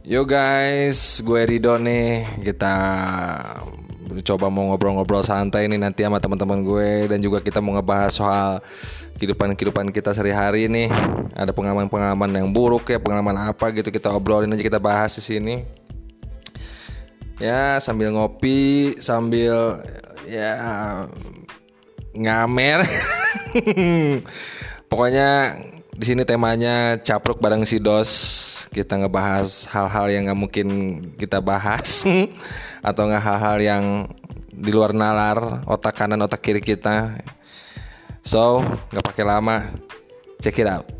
Yo guys, gue Rido nih. Kita coba mau ngobrol-ngobrol santai nih nanti sama teman-teman gue, dan juga kita mau ngebahas soal kehidupan kita sehari-hari nih. Ada pengalaman-pengalaman yang buruk ya, pengalaman apa gitu, kita obrolin aja, kita bahas di sini. Ya, sambil ngopi, sambil ya ngamer. Pokoknya di sini temanya capruk bareng si Dos. Kita ngebahas hal-hal yang nggak mungkin kita bahas atau nggak hal-hal yang di luar nalar otak kanan otak kiri kita. So nggak pakai lama, check it out.